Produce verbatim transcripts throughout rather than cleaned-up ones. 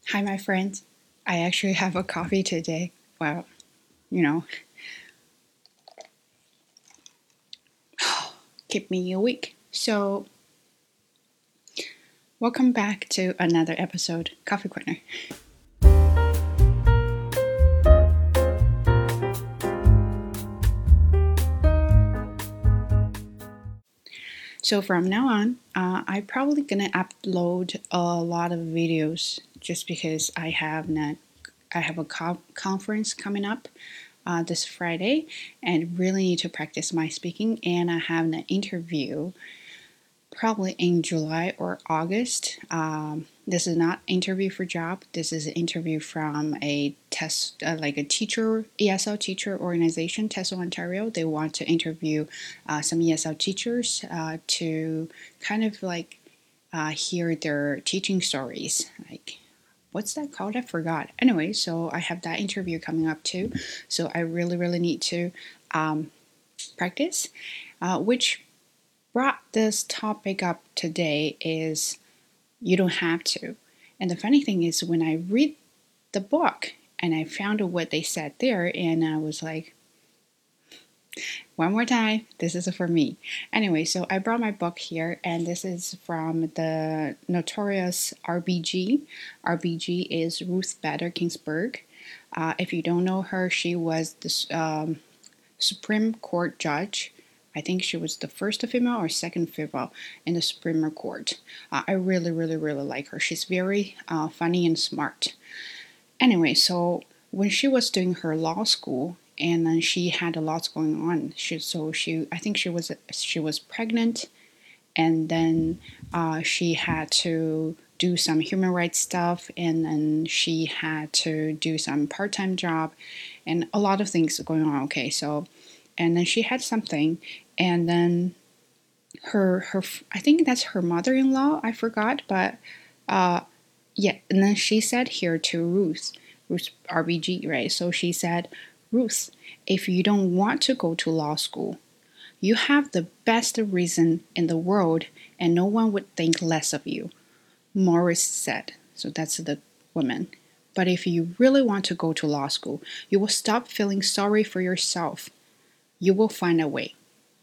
Hi, my friends. I actually have a coffee today. Well, you know, keep me awake. So, welcome back to another episode, Coffee Corner. So from now on, uh, I'm probably gonna upload a lot of videos just because I have not, I have a co- conference coming up uh, this Friday, and really need to practice my speaking. And I have an interview probably in July or August. Um, this is not interview for job. This is an interview from a test, uh, like a teacher, E S L teacher organization, TESOL Ontario. They want to interview uh, some E S L teachers uh, to kind of like uh, hear their teaching stories. Like, what's that called? I forgot. Anyway, so I have that interview coming up too. So I really, really need to um, practice, uh, which brought this topic up today is you don't have to. And the funny thing is, when I read the book and I found what they said there, and I was like, one more time, this is for me. Anyway, so I brought my book here, and this is from the notorious R B G. R B G is Ruth Bader Ginsburg. Uh, if you don't know her, she was the um, Supreme Court judge. I think she was the first female or second female in the Supreme Court. Uh, I really, really, really like her. She's very uh, funny and smart. Anyway, so when she was doing her law school, and then she had a lot going on. She so she I think she was she was pregnant, and then uh, she had to do some human rights stuff, and then she had to do some part-time job, and a lot of things going on. Okay, so and then she had something, and then her her I think that's her mother-in-law. I forgot, but uh, yeah. And then she said here to Ruth, Ruth R B G, right? So she said, Ruth, if you don't want to go to law school, you have the best reason in the world, and no one would think less of you. Morris said. So that's the woman. But if you really want to go to law school, you will stop feeling sorry for yourself. You will find a way.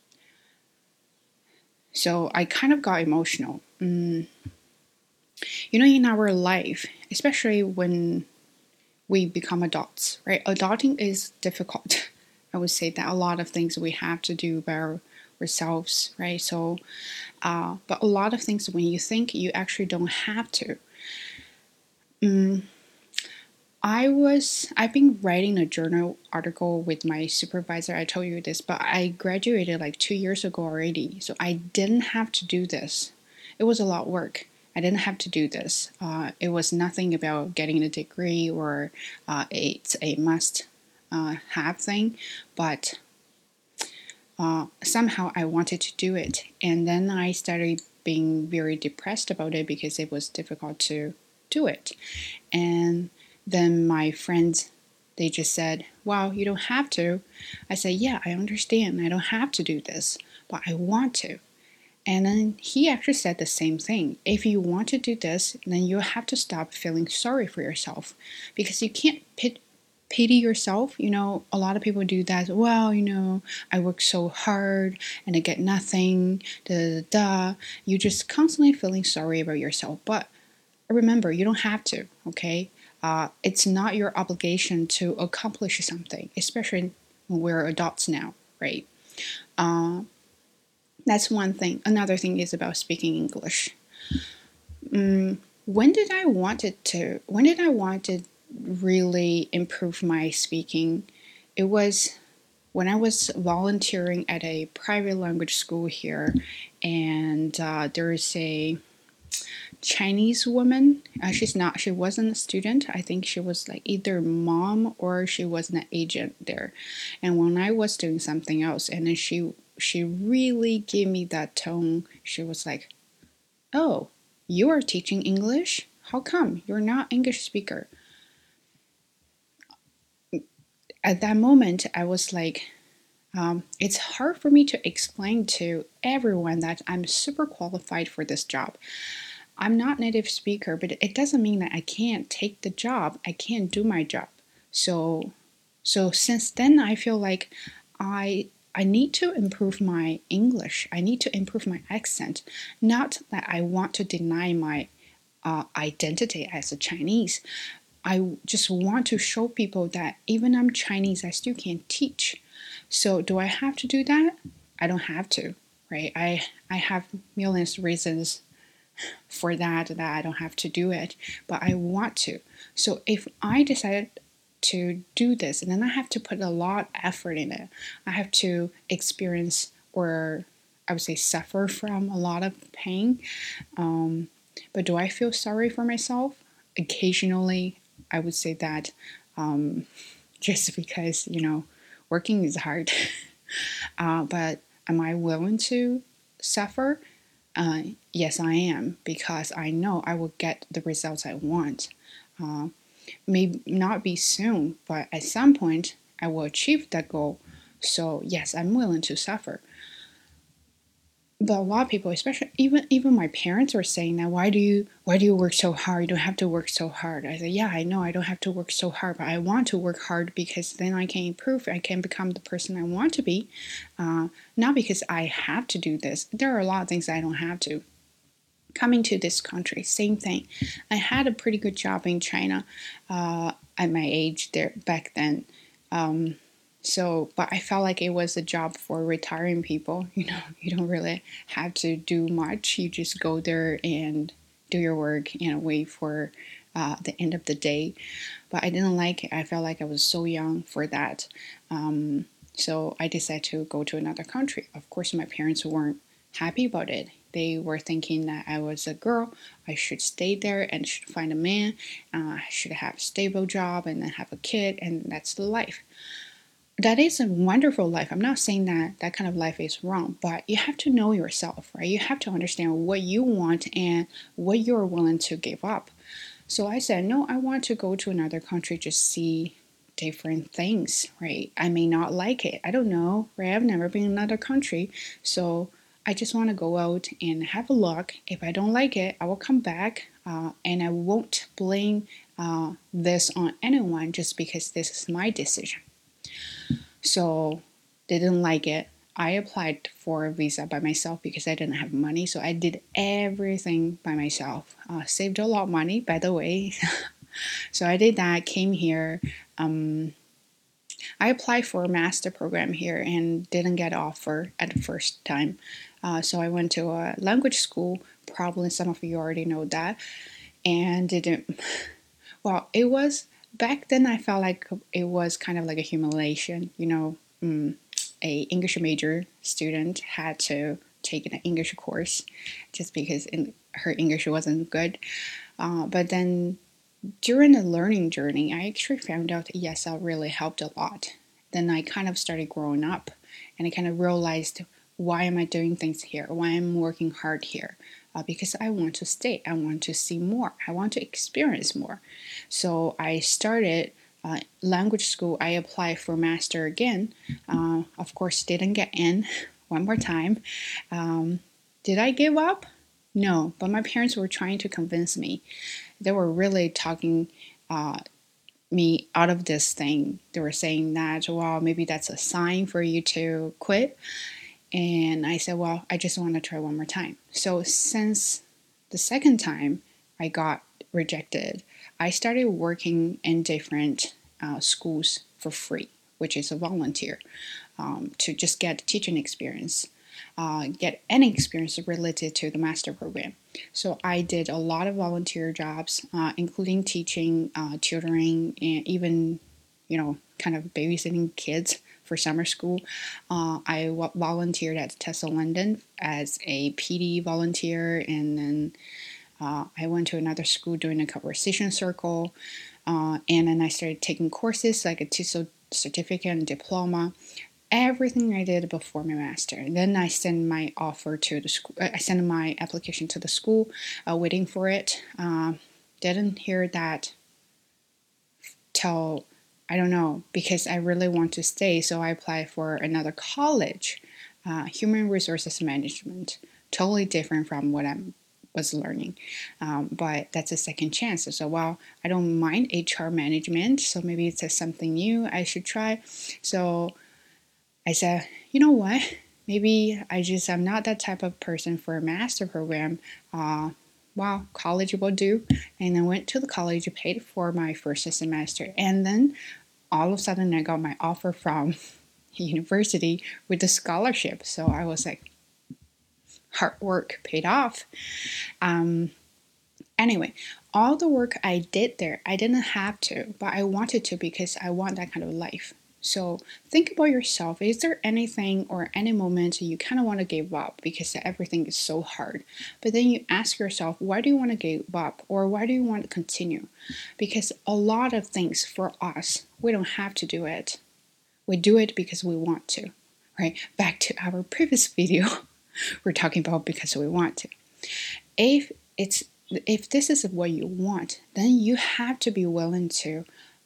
So I kind of got emotional. Mm. You know, in our life, especially when we become adults, right? Adulting is difficult. I would say that a lot of things we have to do by ourselves, right? So, uh, but a lot of things when you think you actually don't have to. Mm, I was I've been writing a journal article with my supervisor. I told you this, but I graduated like two years ago already, so I didn't have to do this. It was a lot of work. I didn't have to do this. Uh, it was nothing about getting a degree or uh, it's a must uh, have thing, but uh, somehow I wanted to do it, and then I started being very depressed about it because it was difficult to do it, and then my friends, they just said, wow, you don't have to. I said, yeah, I understand. I don't have to do this, but I want to. And then he actually said the same thing. If you want to do this, then you have to stop feeling sorry for yourself because you can't pit, pity yourself. You know, a lot of people do that. Well, you know, I work so hard and I get nothing. Da da da. You just constantly feeling sorry about yourself. But remember, you don't have to, okay? Uh, it's not your obligation to accomplish something, especially when we're adults now, right? Uh, that's one thing. Another thing is about speaking English. Mm, when did I want it to? When did I want to really improve my speaking? It was when I was volunteering at a private language school here, and uh, there is a Chinese woman. Uh, she's not. She wasn't a student. I think she was like either mom or she was an agent there. And when I was doing something else, and then she she really gave me that tone. She was like, "Oh, you are teaching English? How come you're not English speaker?" At that moment, I was like, um, "It's hard for me to explain to everyone that I'm super qualified for this job." I'm not native speaker, but it doesn't mean that I can't take the job. I can't do my job. So so since then I feel like I I need to improve my English. I need to improve my accent. Not that I want to deny my uh, identity as a Chinese. I just want to show people that even I'm Chinese, I still can teach. So do I have to do that? I don't have to, right? I I have millions of reasons for that that I don't have to do it, but I want to. So if I decide to do this, and then I have to put a lot of effort in it, I have to experience, or I would say suffer from a lot of pain. Um, but do I feel sorry for myself? Occasionally, I would say that um, just because, you know, working is hard. uh, but am I willing to suffer? Uh, yes, I am, because I know I will get the results I want. Uh, may not be soon, but at some point I will achieve that goal. So yes, I'm willing to suffer. But a lot of people, especially even even my parents, were saying that why do you why do you work so hard? You don't have to work so hard. I said, yeah, I know I don't have to work so hard, but I want to work hard because then I can improve. I can become the person I want to be, uh, not because I have to do this. There are a lot of things I don't have to. Coming to this country, same thing. I had a pretty good job in China uh, at my age there back then. Um, so, but I felt like it was a job for retiring people. You know, you don't really have to do much. You just go there and do your work and wait for uh, the end of the day. But I didn't like it. I felt like I was so young for that. Um, so I decided to go to another country. Of course, my parents weren't happy about it. They were thinking that I was a girl, I should stay there and should find a man, uh, I should have a stable job and then have a kid, and that's the life. That is a wonderful life. I'm not saying that that kind of life is wrong, but you have to know yourself, right? You have to understand what you want and what you're willing to give up. So I said, no, I want to go to another country, just see different things, right? I may not like it. I don't know, right? I've never been in another country. So I just want to go out and have a look. If I don't like it, I will come back uh, and I won't blame uh, this on anyone just because this is my decision. So they didn't like it. I applied for a visa by myself because I didn't have money. So I did everything by myself. Uh, saved a lot of money, by the way. So I did that, came here. Um, I applied for a master program here and didn't get offer at the first time. Uh, so I went to a language school. Probably some of you already know that. And didn't, well, it was, back then I felt like it was kind of like a humiliation. You know, mm, a English major student had to take an English course just because in, her English wasn't good. Uh, but then during the learning journey, I actually found out E S L really helped a lot. Then I kind of started growing up and I kind of realized, why am I doing things here? Why am I working hard here? Uh, because I want to stay. I want to see more. I want to experience more. So I started uh, language school. I applied for master again. Uh, of course, didn't get in one more time. Um, did I give up? No, but my parents were trying to convince me. They were really talking uh, me out of this thing. They were saying that, well, maybe that's a sign for you to quit. And I said, well, I just want to try one more time. So since the second time I got rejected, I started working in different uh, schools for free, which is a volunteer, um, to just get teaching experience. Uh, get any experience related to the master program. So I did a lot of volunteer jobs, uh, including teaching, uh, tutoring, and even, you know, kind of babysitting kids for summer school. Uh, I w- volunteered at Tesla London as a P D volunteer, and then uh, I went to another school doing a conversation circle, uh, and then I started taking courses like a T E S O certificate and diploma. Everything I did before my master. And then I sent my offer to the school. I sent my application to the school, uh, waiting for it. Uh, didn't hear that till, I don't know, because I really want to stay. So I applied for another college, uh, human resources management, totally different from what I'm was learning. Um, but that's a second chance. So, well, I don't mind H R management, so maybe it's something new I should try. So I said, you know what? Maybe I just am not that type of person for a master program. Uh, well, college will do. And I went to the college, paid for my first semester, and then all of a sudden I got my offer from university with a scholarship. So I was like, hard work paid off. Um, anyway, all the work I did there, I didn't have to, but I wanted to because I want that kind of life. So think about yourself. Is there anything or any moment you kind of want to give up because everything is so hard? But then you ask yourself, why do you want to give up, or why do you want to continue? Because a lot of things for us, we don't have to do it. We do it because we want to, right? Back to our previous video, we're talking about because we want to. If it's if this is what you want, then you have to be willing to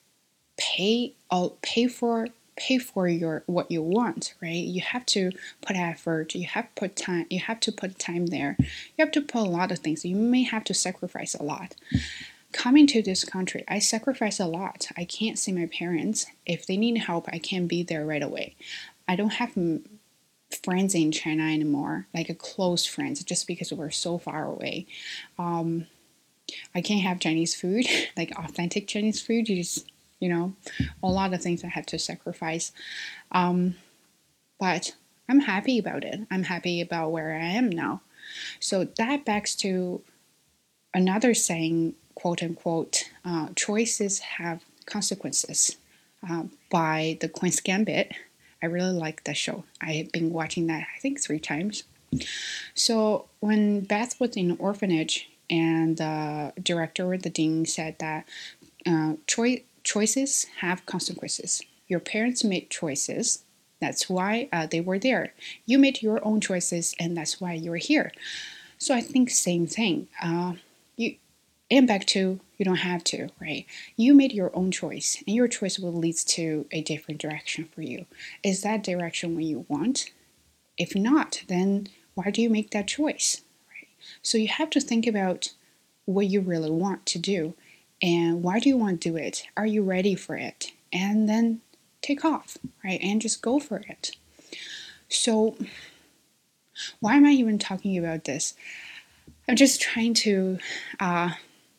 pay all pay for pay for your what you want, right? You have to put effort, you have to put time, you have to put time there. You have to put a lot of things. You may have to sacrifice a lot. Coming to this country, I sacrifice a lot. I can't see my parents. If they need help, I can't be there right away. I don't have friends in China anymore, like a close friends, just because we're so far away. Um, I can't have Chinese food, like authentic Chinese food. You just, you know, a lot of things I had to sacrifice. Um, but I'm happy about it. I'm happy about where I am now. So that backs to another saying, quote unquote, uh, choices have consequences, uh, by the Queen's Gambit. I really like that show. I have been watching that, I think, three times. So when Beth was in an orphanage, and the director or the dean said that uh, choi- choices have consequences. Your parents made choices. That's why uh, they were there. You made your own choices, and that's why you're here. So I think same thing. Uh, you and back to you don't have to, right? You made your own choice, and your choice will lead to a different direction for you. Is that direction what you want? If not, then why do you make that choice? Right? So you have to think about what you really want to do, and why do you want to do it? Are you ready for it? And then take off, right? And just go for it. So why am I even talking about this? I'm just trying to uh,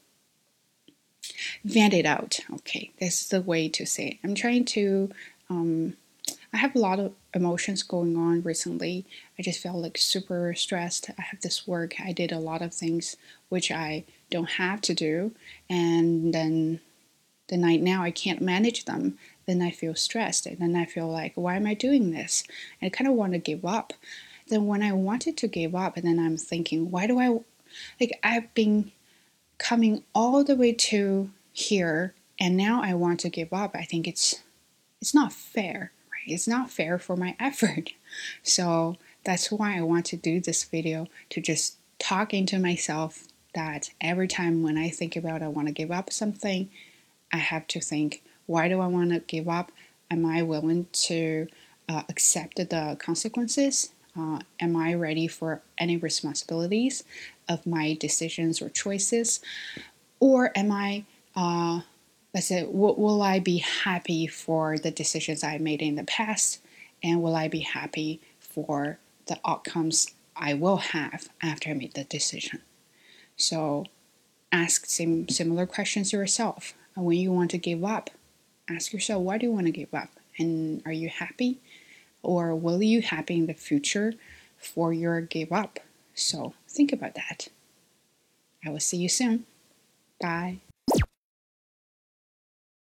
vent it out. Okay, this is the way to say it. I'm trying to, um, I have a lot of emotions going on recently. I just felt like super stressed. I have this work. I did a lot of things which I don't have to do. And then the night now I can't manage them. Then I feel stressed. And then I feel like, why am I doing this? And I kind of want to give up. Then when I wanted to give up, and then I'm thinking, why do I, like, I've been coming all the way to here, and now I want to give up. I think it's it's not fair, right? It's not fair for my effort. So that's why I want to do this video, to just talk into myself that every time when I think about I want to give up something, I have to think, why do I want to give up? Am I willing to uh, accept the consequences? Uh, am I ready for any responsibilities of my decisions or choices? Or am I, uh, let's say, w- will I be happy for the decisions I made in the past? And will I be happy for the outcomes I will have after I made the decision? So ask some similar questions yourself. When you want to give up, ask yourself, why do you want to give up? And are you happy? Or will you happy in the future for your give up? So think about that. I will see you soon. Bye.